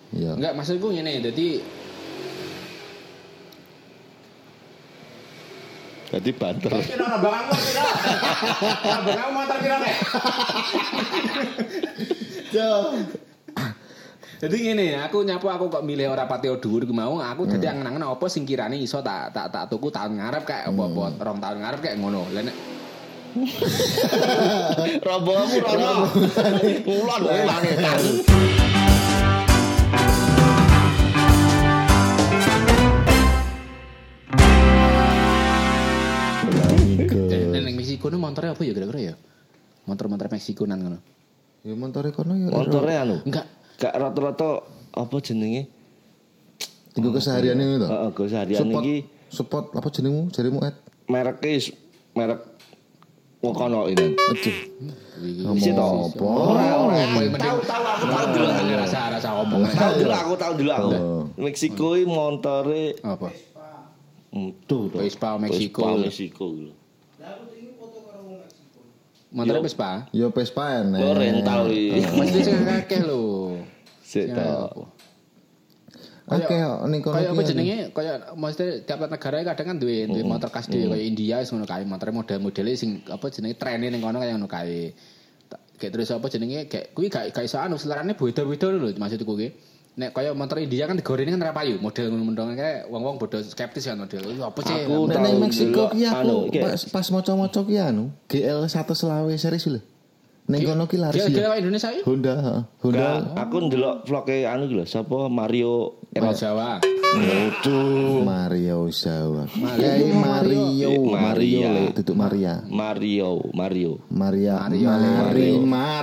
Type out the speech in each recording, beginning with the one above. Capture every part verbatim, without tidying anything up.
Iya. Enggak, maksudku ngene, dadi Dadi banter. kira bangangmu kira. Bangangmu motor kira nek. Yo. Jadi ngene, aku nyapu aku kok milih ora patio dhuwur ku mau, aku dadi Hmm. angen-angen apa sing kirane iso tak tak tak tuku tahun ngarep kayak apa-apa, Hmm. rong tahun ngarep kayak ngono. Lah nek Robomu rono. Ulon ulane tas. nek ning Meksiko nu montore apa ya kira-kira ya? Motor-motor Meksikonan ngono. Ya montore kono ya. Montore anu. Enggak. Gak rata-rata apa jenenge? Tinggal keseharian ini to. Heeh, keseharian Support- iki support apa jenengmu? Jarimu Ed. merek is merek wong kono ini. Aduh. Isi to. Apa? Ora ora Tahu tahu aku tahu dulu. rasa-rasa omong. Tahu dulu aku tahu dulu aku. Oh. Meksiko iki montore Apa? tuh tuh. Vespa Meksiko. Vespa Meksiko. Montore Yo. Vespa. Ya Vespa enek. Lo rental iki. Mesti sing akeh lho. Sik to. Oke, ning kono Kayak apa ki jenenge? Kayak mesti tiap negara kadang kan duwe duwe motor khas dhewe kayak India wis ngono kae, motor model-modele sing apa jenenge trene ning kono kaya ngono kae. Tak- Kayak terus apa jenenge? Kayak kuwi gak gak iso anu selerane beda-beda lho maksudku kuwi. Nek kaya motor India kan digorene kan ora payu, model ngono-ngono kae wong-wong bodoh skeptis kan model. Iki apa sih? Aku Nek tahu ning Meksiko dulu, ki anu, aku kayak- pas, pas maca-maca ki anu G L seratus selawe series lho. Ning kono ki laris Kira-kira ya. Indonesia iki? Honda, heeh. Honda. Enggak, aku ndelok vlog-e anu iki lho, sapa Mario Era Jawa. Waduh. Mario Jawa. Mario. Kayak Mario, Eh, Mario Maria. le duduk Maria. Mario, Mario. Maria, Mario. Marimar.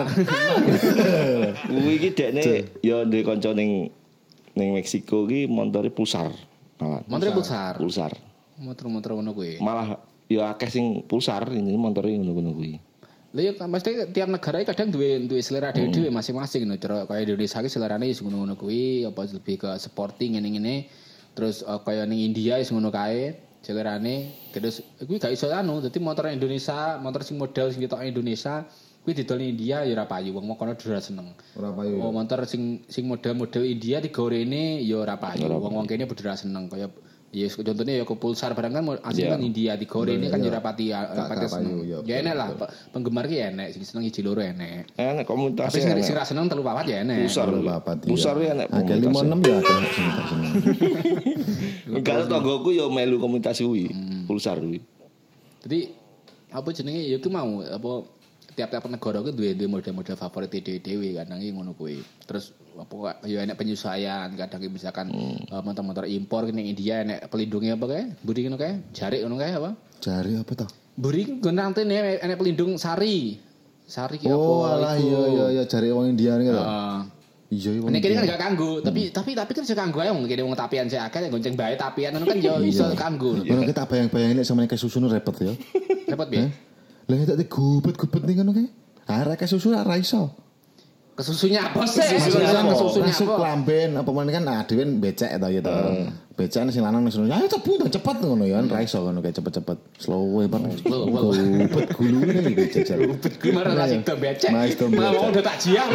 Kuwi iki dekne ya ndek kanca ning ning Meksiko iki montore Pulsar. Malah. Motor Pulsar. Pulsar. Motor-motor ngono kuwi. Malah ya akeh sing Pulsar ini montore ngono-ngono kuwi. Lha ya mesti tiap negara iki kadang duwe duwe selera dhewe-dhewe masing-masing ngono. Cara kaya Indonesia iki selerane wis ngono-ngono kuwi, apa lebih ke sporting ngene-ngene. Terus uh, kaya ning India wis ngono kae, selerane. Terus kuwi gak iso anu, dadi motor Indonesia, motor sing model sing ketok Indonesia kuwi didol ning India ya ora payu, wong kono ora seneng. Ora payu. Oh, motor sing sing model-model India digorene ya ora payu. Wong-wong kene padha ora seneng kaya ya contohnya ya ke Pulsar barang kan asli kan India digorene kan ya ora pati ora pati seneng. Ya enek lah penggemar ki enek sing seneng iji loro enek. Enek komunitas. Tapi sing sing ra seneng telu papat ya enek. Pulsar. Papat. Pulsar ya enek Agak lima enam ya akeh sing tak seneng. Enggak tanggoku ya melu komunitas kuwi. Pulsar kuwi. Jadi apa jenenge ya ku mau apa tiap-tiap negara ku duwe duwe model-model favorit dhewe-dhewe kadang iki ngono kuwi. Terus apa ya enek penyesuaian kadang iki misalkan uh, motor-motor impor ning India enek pelindungnya apa kae? Buri ngono kae? Jarik ngono kae apa? Jari apa toh? Buri gonantene enek pelindung sari. Sari ki apa? Oh, alah iya iya iya jari wong India niku to. Heeh. Iya iya. Nek kene kan gak kanggo, tapi tapi tapi kan iso kanggo ae wong kene wong tapian sik akeh gonceng bae tapian ngono kan yo iso kanggo. Ngono kita bayang-bayangin nek sama nek susu nu repot ya. Repot piye? Lah tak digubet-gubet ning ngono kae. Ah rek susu ora iso. Kesusunya apa sih? Kesusunya Kesusunya masuk apa? lamben apa men kan ah dhewe becek to ya to. Becek sing lanang wis ya cepet cepet ngono ya ra iso ngono kayak cepet-cepet slow wae banget. Gubet gulune becek. Rupet gue marah rasik to becek. Mas to Mau becek. udah tak jiang.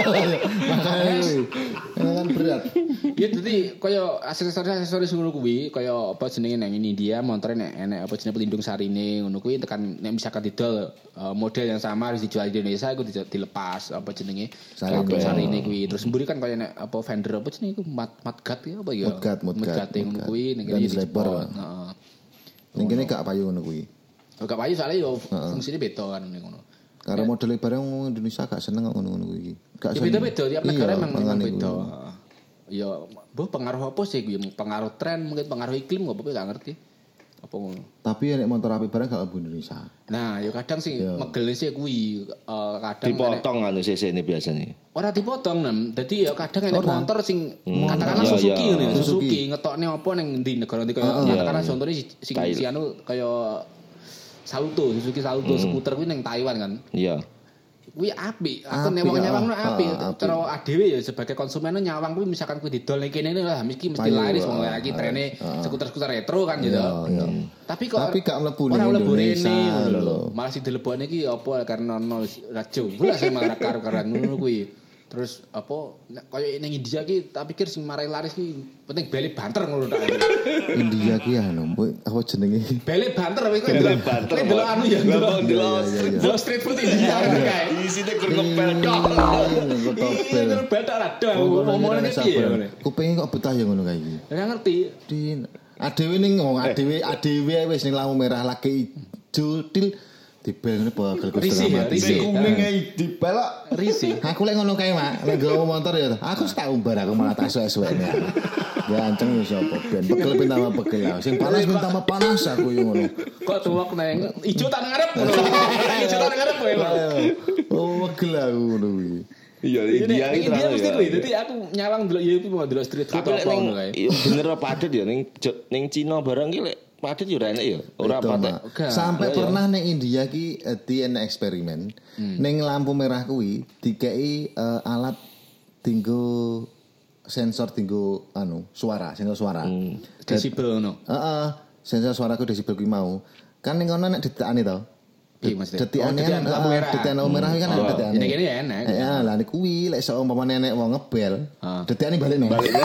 Makanya ini kan berat. Ya jadi kaya aksesoris-aksesoris ngono kuwi kaya apa jenenge nang India montore nek enek apa jenenge pelindung sarine ngono kuwi tekan nek misalkan didol uh, model yang sama harus dijual di Indonesia iku dilepas apa jenenge Sarine. sarine sarine kuwi terus mburi kan kaya nek apa vendor apa jenenge iku mat matgat ya apa ya Matgat, matgat, matgat ngono matgat. kuwi ning Dan kene selebar, Pak. heeh Ning kene gak payu ngono kuwi. gak payu soalnya yo fungsine beda kan ning ngono Karena model barang wong Indonesia gak seneng kok ngono-ngono kuwi. Gak ya beda-beda tiap negara memang memang makanya beda kuwi. ya boh pengaruh apa sih kuwi pengaruh tren mungkin pengaruh iklim gak apa-apa gak ngerti apa ngono Tapi nek motor api barang gak mlebu Indonesia. nah ya kadang sih Iya. megel sih kuwi eh, kadang Dipotong anu C C ini biasanya. ora dipotong nem dadi ya kadang enek Ora. motor sing katakanlah Iya, Suzuki iya. ngono ya Suzuki. Suzuki ngetokne apa ning ndi negara ndi kaya Heeh. katakanlah Iya. contohnya si sing Thailand. si anu kaya Salto Suzuki Salto skuter kuwi ning Taiwan kan Iya. kuwi apik aku Apik, nyawang-nyawang no ah, apik ah, apik. cara adewe ya sebagai konsumen no nyawang kuwi misalkan kuwi didol ning kene lah mesti mesti Payu, laris wong ah, lagi ah, trene ah. skuter-skuter retro kan gitu Iya, iya. tapi kok Tapi gak mlebu ora ning mlebu Indonesia rene ngono lho lho. malah sing dilebokne iki apa karena ono rajo gula sing malah karo-karo ngono kuwi Terus apa kayak ning India ki tak pikir sing marai laris ki penting beli banter ngono tak. India ki anu apa jenenge? Beli banter kowe kok Beli banter. Kowe delok anu ya. Delok street food India kae. Isine gur ngepel tok. Ngepel. Ngepel tok ra dah ngomongane piye ngene. Kupinge kok betah ya ngono kae iki. Ora ngerti. Din adewe ning ngomong adewe adewe wis ning lampu merah lagi ijo til dibel ngene bagel Risi ya, risi. Kuning ae dipelok. Risi. Aku lek ngono kae, Mak. Lek nggawa motor ya. Aku tak umbar aku malah tak esuk-esukne. Ya anceng ya sapa ben pegel ben tambah pegel. Sing panas ben tambah panas aku yo ngono. Kok tuwek neng ijo tak ngarep ngono. Ijo tak ngarep kowe. Oh, pegel aku ngono kuwi. Iya, India iki terus. Dia mesti kuwi. Dadi aku nyawang delok ya iku mau delok street food apa ngono kae. Iya bener apa padet ya ning ning Cina barang ki lek padet yo ora enak ya. Ora padet. Sampai pernah ning India ki di enek eksperimen. Ning lampu merah kuwi dikei alat tinggo sensor tinggo anu suara, sensor suara. Desibel ngono. Heeh, sensor suaraku desibel kuwi mau. Kan ning ngono nek ditekani to. Iya Mas. Detikane kan detikane lampu merah kan ada detikane. Ini kene ya enak. Ya lah niku kuwi lek sok umpamane nenek wong ngebel, detikane balik nih. Balik.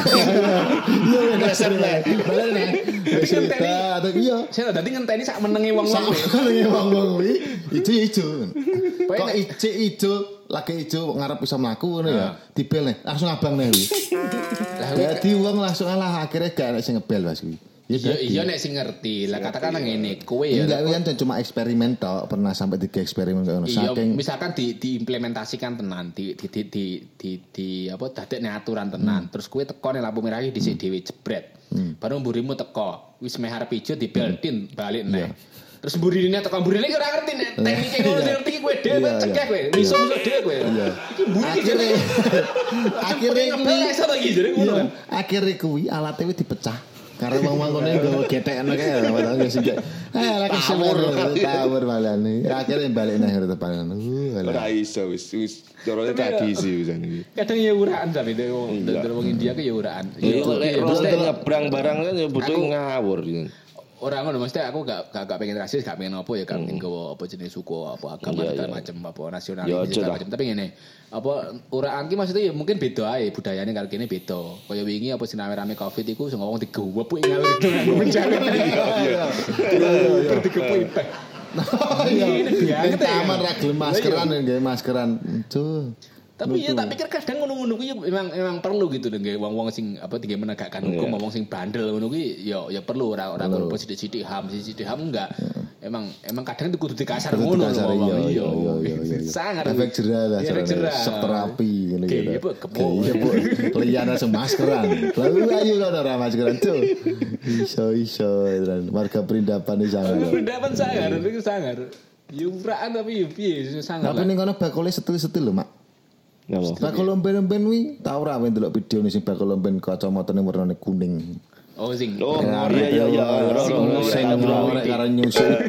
Iya dasar nek. Balik nih. Wis atau iya. Saya dadi ngenteni sak menenge wong-wong. Menenge wong-wong kuwi ijo-ijo. Kok ijo-ijo lagi ijo ngarep iso mlaku ngono ya. Dibel nih, langsung abang nih kuwi. Lah dadi wong langsung alah akhirnya gak enek sing ngebel Mas kuwi. Iya iya nek sing ngerti. Lah katakan ngene, kowe ya. Enggak kan cuma eksperimen tok, pernah sampai tiga eksperimen ngono. Saking misalkan di diimplementasikan tenan, di di di di, di, di apa dadekne aturan tenan. Terus kowe teko ning lampu merah iki dhisik dhewe jebret. Baru mburimu teko, wis meh arep ijo dibeltin balik neh. Terus mburine teko mburine iki ora ngerti nek teknike ngono ngerti kowe dhewe cekek kowe. Miso-miso dhewe kowe. Iki mburi akhirnya akhirnya kuwi iso to iki jare ngono kan. Akhirnya kuwi alate wis dipecah. Karena wong-wong ngene nggawa getekno kae ora tau sing. Eh lagi semur tawur malane. Akhirnya balik nang depan. Ora iso wis wis carane tradisi wis iki. Kadang ya uraan tapi wong wong India ke ya uraan. Ya mesti nyebrang barang kan ya butuh ngawur. Ora ngono mesti aku gak gak, gak pengen rasis, gak pengen apa ya kan nggawa apa jenis suku apa agama segala macam apa nasionalis segala macam. Tapi ngene, apa uraan ki maksudnya ya mungkin beda ae budayane karo kene beda. Kaya wingi apa sing rame-rame Covid iku sing ngomong digewep kuwi ngawur itu nganggo menjalin. Iya. Iya, digepuk impek. Iya, ini taman ra gelem maskeran nggih maskeran. Tuh. Tapi ya tak pikir kadang ngono-ngono kuwi memang memang perlu gitu nggih wong-wong sing apa tiga menegakkan hukum wong sing bandel ngono kuwi ya ya perlu ora ora perlu sithik-sithik ham sithik-sithik ham enggak. Emang emang kadang itu kudu dikasar ngono lho. Iya iya. Sangat efek jerah lah. Sok terapi ngene gitu. Iya, Bu, Iya, Bu. Liyan langsung maskeran. Lalu ayo kan ora maskeran tuh. Iso iso warga perindapan iki sangar. Perindapan sangar itu sangar. Ya uraan tapi ya piye sangar. Tapi ning kono bakule setil-setil lho, Mak. Napa? Bakul lomben-lomben kuwi tau ora kowe ndelok video ning sing bakul lomben kacamatane warnane kuning. Oh sing. Oh iya iya iya. Sing ngorek karo nyusuk.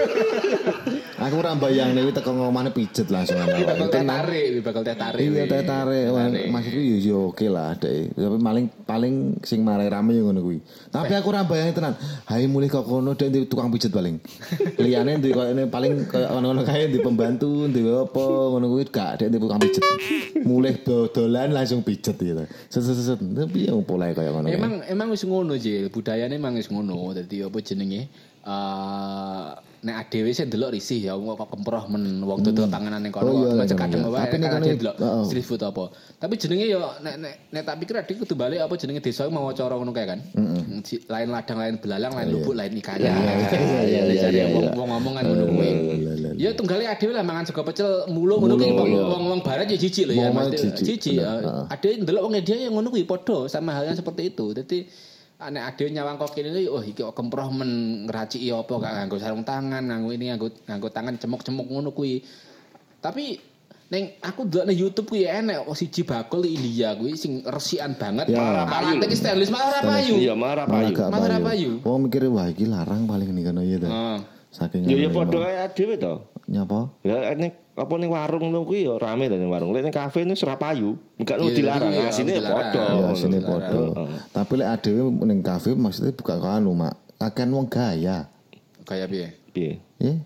Aku ora mbayangne kuwi teko ngomane pijet langsung ana. Bakal teh tarik, bakal teh tarik. Iya teh tarik. Maksudku yo yo oke lah dek. Tapi paling paling sing marai rame yo ngono kuwi. Tapi aku ora mbayangne tenan. Hai mulih kok kono dek tukang pijet paling. Liyane ndek koyo paling koyo ngono kae di pembantu, ndek apa ngono kuwi gak dek tukang pijet. Mulih dodolan langsung pijet gitu. Set-set tapi yo pola koyo ngono. Emang emang wis ngono Jil, budayane emang wis ngono. Dadi apa jenenge? Eh nek adewe sing ndelok risih ya kok kemproh men wong dodol panganan ning kono kok kadang wae kan ndelok street food apa. Tapi jenenge ya nek nek nek tak pikir adik kudu balik apa jenenge desa mau cara ngono kae kan. Lain ladang, lain belalang, lain lubuk, lain ikannya. Iya iya iya. Wong ngomong kan ngono kuwi. Ya tunggale adewe lah mangan sego pecel mulu ngono kuwi wong-wong barat ya jijik lho ya mesti jijik. Adewe ndelok wong India ya ngono kuwi padha sama halnya seperti itu. Dadi anek ade nyawang kok kene oh iki kok kemproh men ngraciki apa gak nganggo sarung tangan nganggo ini nganggo nganggo tangan cemuk-cemuk ngono kuwi. Tapi ning aku ndelok nang YouTube kuwi enek siji bakul India kuwi sing resikan banget. Alat iki stainless malah ora payu. Iya, malah payu. Malah ora payu. Wong mikir wah iki larang paling ning kono ya to. Saking ya ya padha kaya dhewe to. Nyapa? Ya ning apa ning warung lho kuwi ya rame to ning warung. Lek ning kafe ini ora payu. Enggak lu dilarang, asine padha. Ya asine padha. Tapi lek adewe ning kafe maksudnya buka anu, Mak. Akan wong gaya. Gaya piye? Piye? Ya.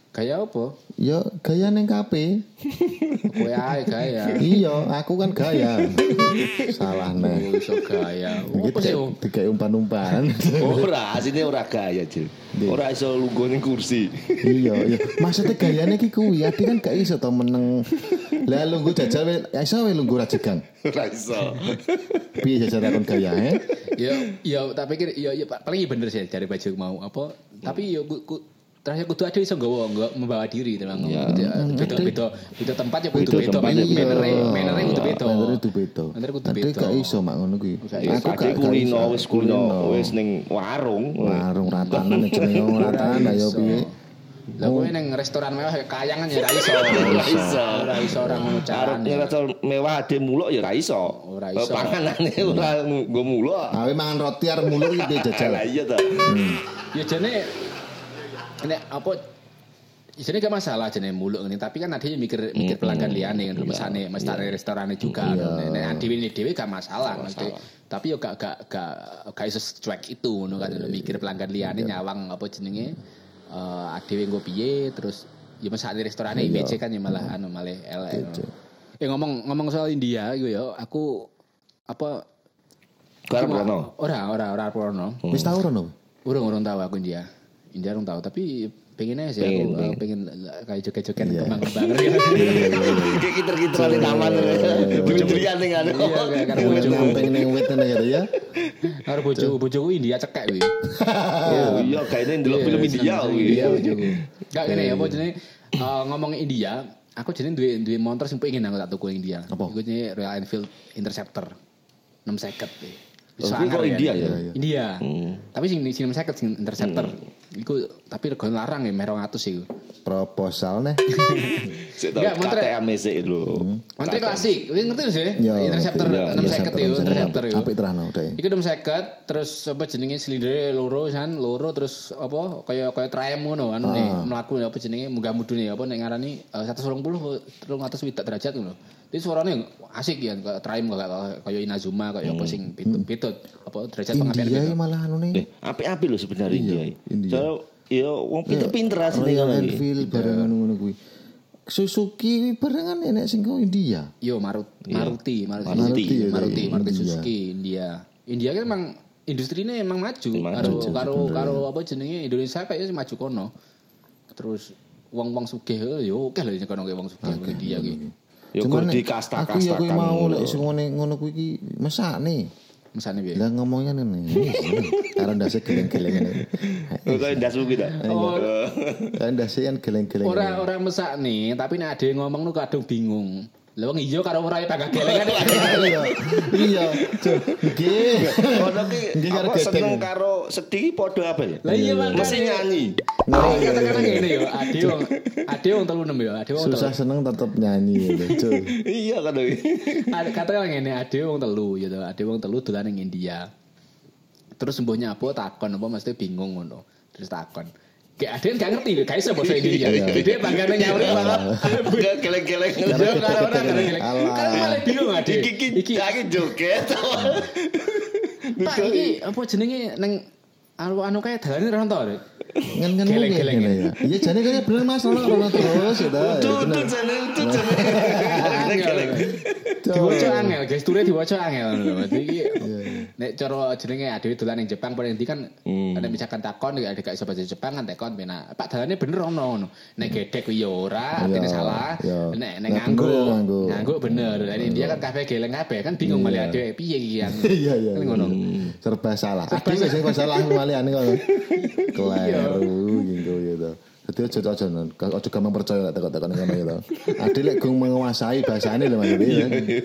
Gaya apa? Ya gaya ning kafe. Kowe ae gaya. Iya, aku kan gaya. Salah Oh, nih. iso gaya. Apa sih? Digawe umpan-umpan. Ora, asine ora gaya, Cil. Ora iso lungguh ning kursi. Iya, iya. Maksudnya gayane ki kuwi, ati kan gak iso to meneng. Lah lungguh jajal we, iso we lungguh rajegang. Ora iso. Piye jajal takon gaya, eh? Ya, ya tak pikir ya ya paling bener sih dari baju mau apa. Tapi ya ku, ku, terakhir kudu ada iso nggawa enggak membawa diri teman. Ya. Beda beda beda tempat ya kudu Beda beda tempat, manere iya. manere kudu beda. Manere kudu beda. Manere kudu Ati beda. gak iso mak ngono kuwi. Aku gak kulino wis kulino wis ning warung. warung ratanan jenenge wong ratanan ayo piye. Lah kowe ning restoran mewah kayangan ya ra iso. Ora iso. Ora iso ora ngono Arep carane. ngerasa mewah ade muluk ya ora iso. Ora iso. Panganane ora nggo muluk. Awe mangan roti arep muluk iki piye jajal. Lah iya ta. Ya jane nek apa isine gak masalah jane muluk ngene tapi kan adine mikir mikir pelanggan liyane kan mesane mestane restorane juga kan. Nek adine dhewe gak masalah mesti. Tapi yo gak gak gak gak iso cuek itu ngono kan mikir pelanggan liyane nyawang apa jenenge eh adewe nggo piye terus ya mesane restorane I B C kan ya malah anu malah elek. Eh ngomong ngomong soal India iku ya aku apa Karep ono. ora ora ora porno. Wis tau rono. Urung-urung tahu aku India. India urung tahu tapi pengen aja sih aku uh, pengen kayak joget-joget kembang-kembang. Kayak kiter-kiteran di taman. Durian ning anu. Iya kayak karo bojoku. Nyampe ning wit ngene ya. Karo bojoku bojoku India cekek kuwi. Oh iya kayaknya ndelok film India kuwi. Iya bojoku. Gak ngene apa jenenge eh, ngomong India, aku jenenge duwe duwe motor sing pengen aku tak tuku India. Iku jenenge Royal Enfield Interceptor enam puluh kuwi. Oh, kok India ya? India. Tapi sing sing enam puluh sing Interceptor. Iku tapi regane larang ya meh dua ratus iku. Proposal nih. Sik Enggak, tak montre- K T M sik lho. Montre klasik, kowe ngerti lho sih? Ya, Interceptor iya, enam puluh itu, Interceptor itu. Apik terano deh. Iku enam puluh terus apa jenenge silindere loro kan, loro terus apa kaya kaya Triumph ngono kan nih mlaku apa jenenge munggah mudune apa nek ngarani eh, seratus dua puluh tiga ratus swidak derajat ngono. Jadi suarane asik ya kayak Triumph kayak kaya Inazuma kaya apa sing pitut apa derajat pengambilan India gitu. malah anu nih. Eh, apik-apik lho sebenarnya India. India. Soale ya wong pinter-pinter asline Royal ngono iki. Enfield bareng ngono kuwi. Suzuki barengan enek sing kok India. Yo Maruti, Maruti, Maruti, Maruti, Maruti, ya, Maruti, iya. Maruti India. Suzuki, India. India kan emang industrinya emang maju Maju, karo maju, karo bener. karo apa jenenge Indonesia kayaknya maju kono. Terus wong-wong sugih yo oke lho kono kayak wong sugih okay, India ki. Ya Cuman kok nek dikasta-kastakan. aku ya kuwi mau lek sing ngene ngono kuwi iki mesakne. Mesane piye? Lah ngomongnya ngene. Karo ndase geleng-geleng ngene. Kok ndas kuwi ta. Kan ndase kan geleng-geleng. Ora ora mesak nih, tapi nek ade ngomong nu kadung bingung. Lah wong iya karo ora tangga gelengan. Iya. Iya. Nggih. Ono ki Nggih, karo apa gedeng. seneng karo sedih padha apa ya? Lah iya makane. Mesti nyanyi. Nah, kata-kata ngene yo, ade wong ade wong telu enam yo, ade wong Susah telu. seneng tetep nyanyi gitu. Cuy. Iya kan iki. Ada kata ngene, ade wong telu gitu, ade wong telu dolan ning India. Terus sembuhnya apa takon apa mesti bingung ngono. Terus takon. Kayak ade gak ngerti lho, gak iso bahasa Indonesia. Dia banggane nyawuri banget. Enggak geleng-geleng. Yo karo ora karo geleng. Alah. Kan malah bingung ade. Iki iki iki iki joget. Pak iki apa jenenge ning anu anu kae dalane ora entuk. Ngen-ngen Geleng-geleng ngene ya. Iya jane kaya bener Mas ono ono terus ya ta. Tuh tuh jane tuh jane. Geleng-geleng. Diwaca angel, gesture diwaca angel lho. Iki nek cara jenenge adewe dolan ning Jepang paling ndi kan ada misalkan takon nek gak iso bahasa Jepang kan takon penak. Pak dalane bener ono ngono. Nek gedek kuwi ya ora, artine Iya, salah. iya. Nek nek Nek nganggo, bener, nganggo. nganggo bener. Lah India kan kabeh geleng kabeh kan bingung malah adewe piye iki kan. Iya iya. Kan ngono. Serba salah. Ade wis sing kok salah maliane kok. Kleru gitu gitu. Dadi aja aja aja gampang percaya lek tekok-tekok ngono gitu. Ade lek gong menguasai bahasane lho Mas. Iya.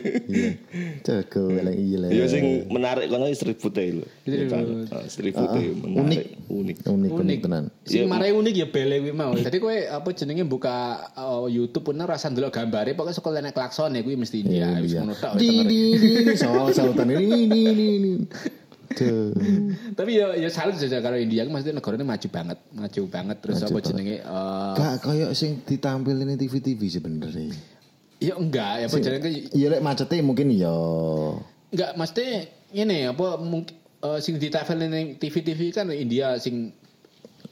Jago elek iya lek. Ya sing menarik kono street food e lho. Street food e menarik, unik. Unik unik tenan. Sing marai unik ya bele kuwi mau. Dadi kowe apa jenenge buka uh, YouTube pun rasa ndelok gambare pokoke saka nek klaksone kuwi mesti India wis ngono tok. Di di di soal sautan ini ini ini. Tuh. Tapi ya ya salut saja kalau India maksudnya negaranya maju banget, maju banget terus Maju apa banget. jenenge eh Gak kayak sing ditampilin di T V T V sebenarnya. ya enggak ya apa jenenge Iya lek macetnya mungkin ya. enggak mesti ngene apa mungkin uh, sing ditampilin ning T V T V kan India sing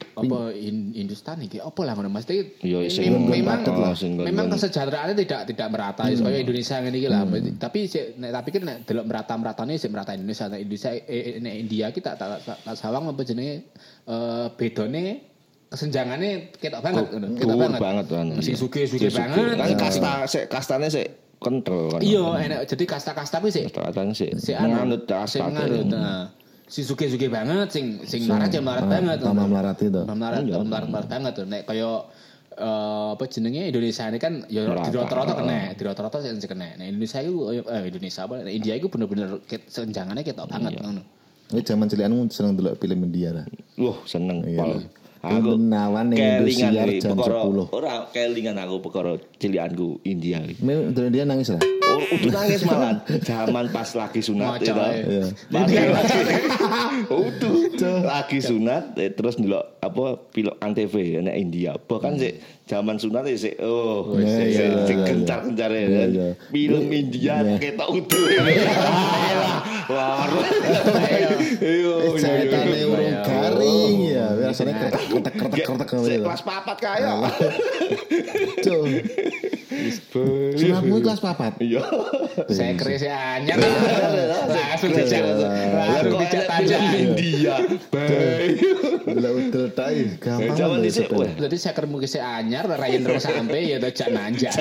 apa in, Hindustan iki apa lah ngono Mas iki Iya, sing mem- memang padet lah, sing memang nggon- kesejahteraannya tidak tidak merata hmm. kaya Indonesia ngene iki lah tapi sik nek tapi kan nek delok merata-meratane sik merata Indonesia nek Indonesia eh, nek India ki tak tak tak, tak sawang apa jenenge eh bedone kesenjangannya ketok banget ngono ketok Dhuwur banget banget kan. sing sugih-sugih banget Kan kasta sik kastane sik kental kan. iya enak jadi kasta-kasta kuwi sik Kasta-kastane sik sik manut sik kasta. nganut nah si suge-suge banget sing sing melarat ya melarat banget Tambah melarat itu. melarat melarat melarat banget tuh nek kaya eh, apa jenenge Indonesia ini kan ya Merata. di rata-rata kena di rata-rata sing kena nah Indonesia itu eh Indonesia apa nah, India itu bener-bener ket- senjangannya ketok banget ngono Ini zaman cilianmu seneng delok film India lah. Wah, seneng Iya. pol. Aku Benawan ning kelingan Indosiar iki, jam perkara- sepuluh. Ora kelingan aku perkara cilianku India iki. Memang dia nangis lah. Oh, udah nangis malah. Zaman pas lagi sunat Maca, itu. ya. Pas lagi. Udah lagi sunat eh, terus ndelok apa film Antv nek India. Bahkan sik zaman sunat ya sik oh Iya, sik iya, sik iya, gencar-gencar iya, ya. iya. Film India Iya. ketok utuh. Wah. Ayo. Jaitane urung garing ya. Biasanya kretek kretek kretek Sik kretek. kelas papat kaya. Cuk. Sunatmu kelas papat. Iya. saya kris anyar langsung dijak langsung dijak tajam India. Baik. Lah udel tai gampang. Zaman lho, dhisik sepeda. weh. berarti saya kermu kise anyar rayen terus sampai ya tajak nanjak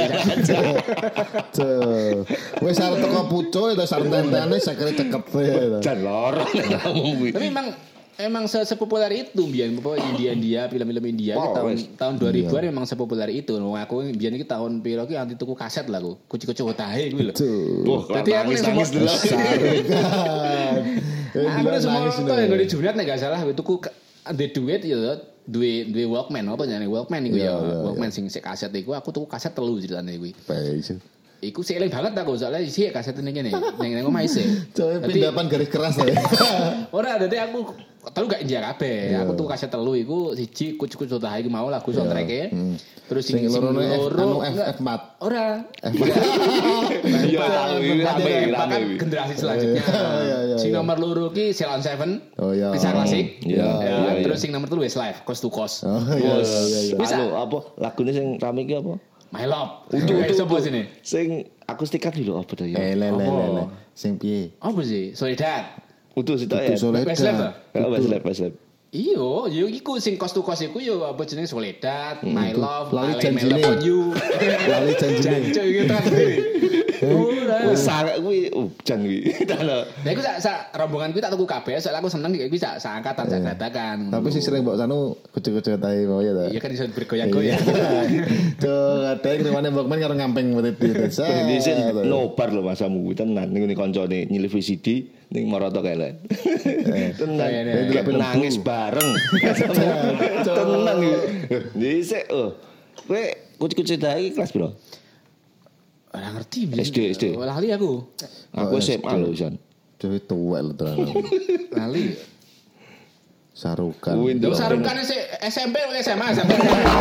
Cuk. Wis arep teko pucuk itu sareng tentane sakare cekep ya. Jan loro ngomong kuwi. tapi emang emang se- sepopuler itu biyen apa India India film-film India Wow, ki tahun wes. tahun dua ribuan memang sepopuler itu. Wong aku biyen iki tahun piro ki anti tuku kaset lah aku. Kuci-kuci otahe kuwi lho. Cuk. Wah, Jadi aku nangis yang nangis semua- dulu. Sarekan. Aku nek semua to yang di Jumat nek gak salah tuku ka- di duit ya duwe duwe Walkman apa jenenge Walkman iku Iya, ya. iya, Walkman sing sik kaset iku aku tuku kaset telu ceritane kuwi. Baik. Iku sik eling banget aku soalnya isi kaset ning kene. Ning ning omah isih. Coba Dadi- pindapan garis keras lah. Ora, dadi aku telu gak India kabeh. Aku tuh kaset telu iku siji kucu-kucu otahe iku mau lagu soundtrack-e. Terus sing Sing sing loro anu F enggak. F empat. Ora. Iya, tahu ini rame rame. Bahkan generasi selanjutnya. Iya, iya, Sing iya. nomor loro ki Ceylon Seven. Oh, iya. Kisah klasik. Iya, Ya, iya, iya. terus sing nomor telu Westlife, Coast to Coast. Oh iya Bos, iya iya. Bisa. anu apa lagune sing rame iki apa? My Love. Utuh Kayak utuh. sapa utuh. sini? Sing akustikan dulu apa to ya? Eh le le le Apa? le. Sing piye? Apa sih? Soledad. Utuh sitok Itu ya. Soledad. Westlife, ah? Ya wes lep wes lep. Iyo, yo iku sing Coast to Coast iku yo apa jenenge Soledad, My Love, Lali I Lay My janjine. Love on You. Lali janjine. Jancu iki kan. Ora. Wes sangat kuwi ujan kuwi. Tano. Nah, aku sak sak rombongan kuwi tak tuku kabeh, soalnya aku seneng iki sak sak angkatan sak dadakan. Tapi sih sering mbok sanu kucu-kucu tai mau ya ta. Iya kan iso bergoyang-goyang. Tuh, kadang ngrewane Walkman karo ngamping berarti itu. Ini sih nobar lho masamu kuwi tenan ning ngene kancane nyilih V C D ning Maroto kele. Tenan. Iya, iya, iya. Kayak nangis bareng. Tenan iki. Dhisik oh. Kowe kucu-kucu tai kelas piro? Ora ngerti biyen. S D, S D. Lali aku. Aku S M A lho, San. Dewe tuwek lho tenan. Lali. Sarukan. Kuwi Lho ndelok. sarukan S M P atau S M A sampai.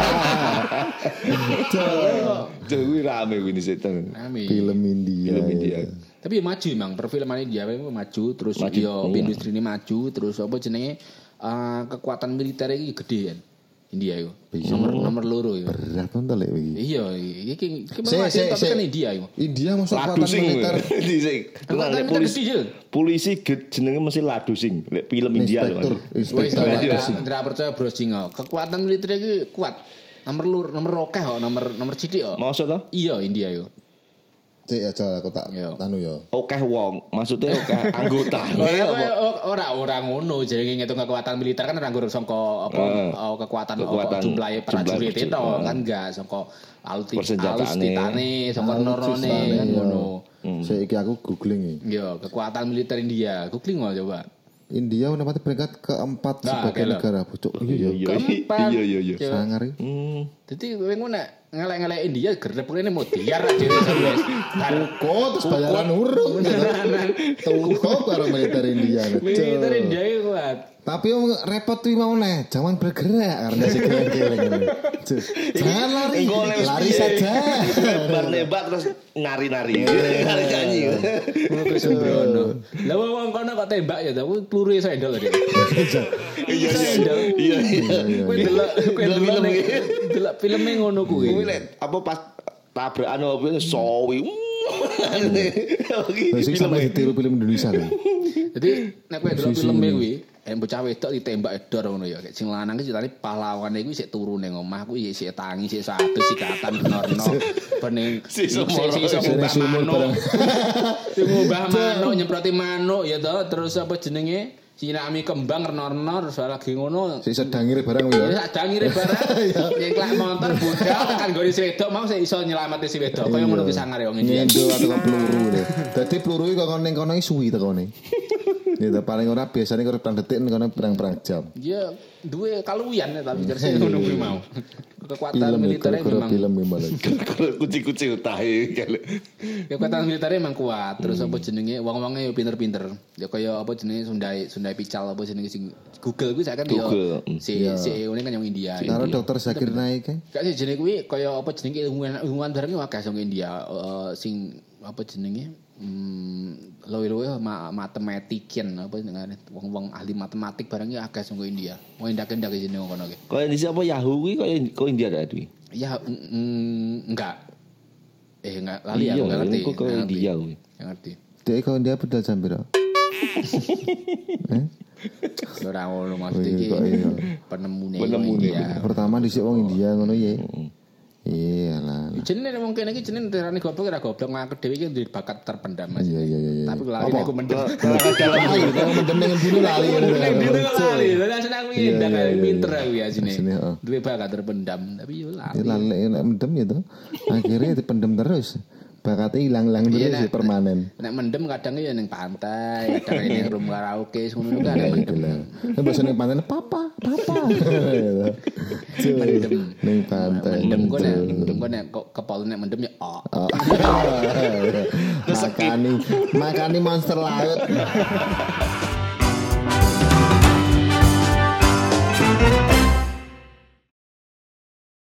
Tuh kuwi rame kuwi dhisik tenan. Amin. Film India. Film India. Tapi ya maju emang perfilman India memang maju terus Maju. yo Iya. industri ini maju terus apa jenenge eh, kekuatan militer iki gede kan. India itu. Nomor nomor loro itu. Berat to lek iki. Iya, iki iki Se- memang se- tapi se- kan India itu. India masuk Ladu kekuatan sing militer. dhisik. Kekuatan Tenan, militer polisi. gede, Jil. Polisi ge- jenenge mesti ladu sing. Lek film India lho. Inspektur, Wis inspektur. tak Iya. tidak percaya browsing kok. Kekuatan militer iki kuat. Nomor lur, nomor rokeh kok, nomor nomor cilik kok. Maksud to? Iya, India itu. Cek aja aku tak Iya. anu yo. Okeh wong, maksudnya okeh anggota. Ora ora ngono jenenge ngitung kekuatan militer kan ora nggur sangka apa Eh, oh, kekuatan, kekuatan apa jumlahe prajurit jumlah itu prajurit. kan enggak sangka aluti Persenjataane. alustitane sangka norone Alutsistane, kan iya. ngono. Saiki aku googling iki. Iya, kekuatan militer India. Googling nggak coba. India menempati peringkat keempat Nah, sebagai kelo. negara pucuk. Iya Iya. iya Keempat. iya iya iya. Coba. Sangar iki. Hmm. Jadi kowe ngono nek ngelek-ngelek India gerepene Modiar dhewe sampe. Tuko terus bayaran urung. Tuko karo militer India. Militer India iku kuat. Tapi yang repot tuh mau nih, jangan bergerak karena si geleng-geleng. Jangan lari, lari saja. Nembak terus nari-nari, nari-nyanyi. Ngono sembrono. Lah wong kono kok tembak ya, tapi peluru sendal dia. Iya iya iya. Kowe delok kowe delok ning delok filme ngono kuwi. Kuwi lek apa pas tabrakan opo sowi. Wis sampe ditiru film Indonesia lho. Jadi nek kowe delok filme kuwi, eh bocah wedok ditembak edor ngono ya. Sing lanang ki ceritane pahlawane kuwi sik turu ning omah kuwi sik tangi sik satu sikatan benorno. Bening sik iso ngubah manuk. Sing ngubah manuk nyemproti manuk ya to, terus apa jenenge? Sinami kembang renorno terus lagi ngono. Sik sedangire barang ya. Ya sedangire barang. Yen klak motor budal kan gone si wedok mau sik iso nyelamati si wedok. Kaya ngono ki sangar ya wong iki. Nyendo atau peluru. Dadi peluru iki kok ning kono suwi tekone. Ya paling ora biasane kok pirang detik kono pirang-pirang jam. Ya duwe kaluwian tapi terus ngono kuwi mau. Kekuatan militernya memang film memang. Kuci-kuci utahe. Kekuatan militernya memang kuat. Terus apa jenenge wong-wonge yo pinter-pinter. Ya kaya apa jenenge Sundai Sundai Pical apa jenenge sing Google kuwi saken yo si si ngene kan yang India. Karo dokter Zakir Naik kan. Gak sih jenenge kuwi kaya apa jenenge ilmuwan ilmuwan bareng akeh sing India sing apa jenenge hmm luwe-luwe matematikian apa jenenge wong-wong ahli matematik barang iki akeh sing India. Wong ndak-ndak jenenge kono ki. Kaya di apa Yahoo kuwi kaya kok India ta kuwi? Ya enggak. Eh enggak lali aku enggak ngerti. Kok kaya India kuwi. Enggak ngerti. Dek kok India pedal jam piro? Eh? Ora ngono maksud iki. Penemune India. Pertama dhisik wong India ngono ya. Iya lah. Jenenge wong kene iki jenenge terane goblok ora goblok ngakak dhewe iki duwe bakat terpendam Mas. Iya iya iya. Tapi lali aku mendem. Dalam lali, kalau mendem ning dulu lali. Ning dulu lali. Lah seneng iki ndak pinter aku ya sini. Duwe bakat terpendam tapi yo lali. Lali nek mendem ya to. Akhirnya dipendem terus. Bakatnya hilang-hilang terus ya permanen. Nek mendem kadang ya ning pantai, kadang ning rumah karaoke ngono kan mendem. Nek basa ning pantai papa, papa. Mendem ning pantai. Mendem kok nek mendem kok nek kepala nek mendem ya oh. Makani makani monster laut.